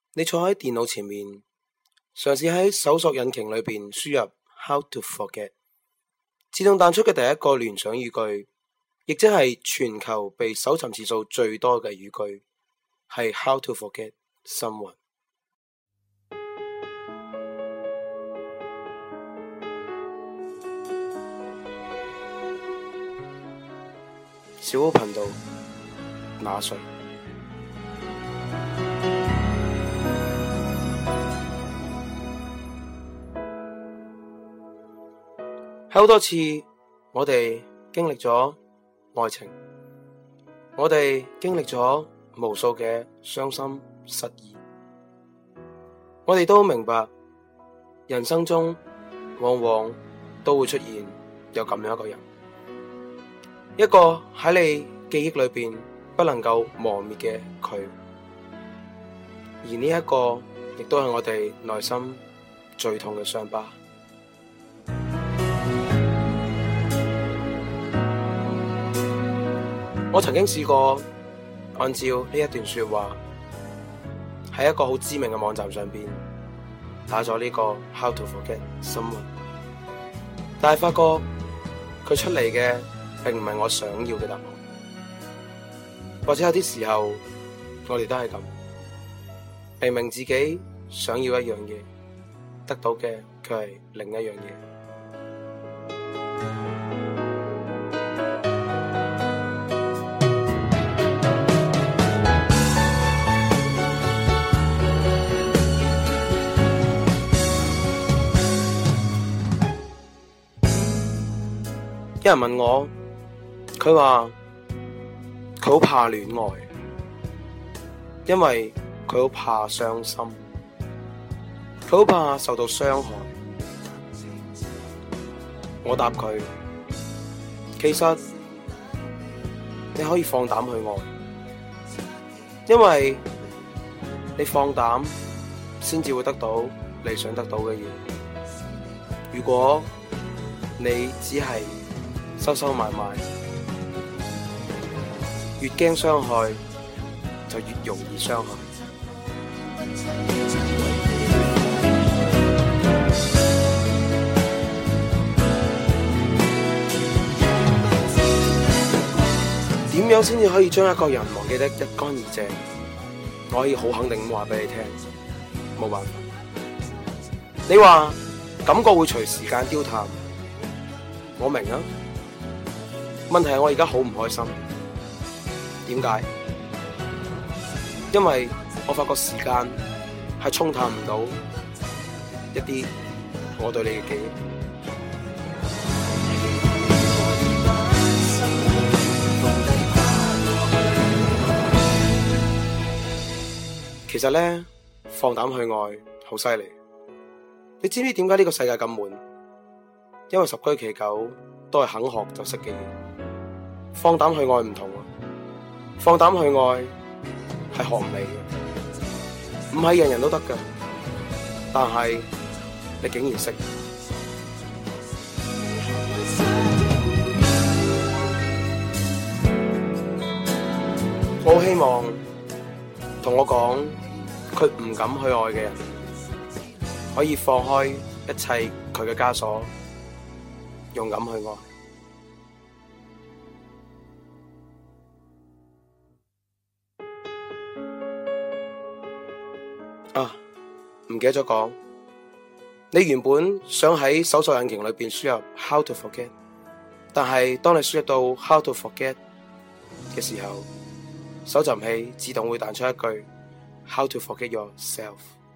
你坐喺電腦前面，嘗試喺搜索引擎裏邊輸入 How to forget， 自動彈出嘅第一個聯想語句，亦即係全球被搜尋次數最多嘅語句，係 How to forget someone。小屋頻道，那誰？喺好多次，我哋經歷咗愛情，我哋經歷咗無數嘅傷心失意，我哋都明白，人生中往往都會出現有咁樣一個人，一個喺你記憶裏邊不能夠磨滅嘅佢，而呢一個亦都係我哋內心最痛嘅傷疤。我曾經試過按照呢一段說話喺一個好知名嘅網站上邊打咗呢個 How to forget someone， 但係發覺佢出嚟嘅並唔係我想要嘅答案，或者有啲時候我哋都係咁，明明自己想要一樣嘢，得到嘅卻係另一樣嘢。有人問我，佢話佢好怕戀愛，因為佢好怕傷心，佢好怕受到傷害。我答佢，其實你可以放膽去愛，因為你放膽先至會得到你想得到嘅嘢。如果你只係收收埋埋，越驚傷害就越容易傷害。點樣先至可以將一個人忘記得一乾二淨？我可以好肯定咁話俾你聽，冇辦法。你話感覺會隨時間凋淡，我明啊。問題係我而家好唔開心，點解？因為我發覺時間係沖淡唔到一啲我對你嘅記憶。其實呢，放膽去愛好犀利。你知唔知點解呢個世界咁悶？因為十居其九都係肯學就識嘅嘢。放膽去愛唔同啊！放膽去愛係學唔嚟嘅，唔係人人都得㗎。但係你竟然識，我好希望同我講佢唔敢去愛嘅人，可以放開一切佢嘅枷鎖，勇敢去愛。唔記得咗講，你原本想喺搜索引擎裏邊輸入 How to forget， 但係當你輸入到 How to forget 嘅時候，搜尋器自動會彈出一句 How to forget yourself。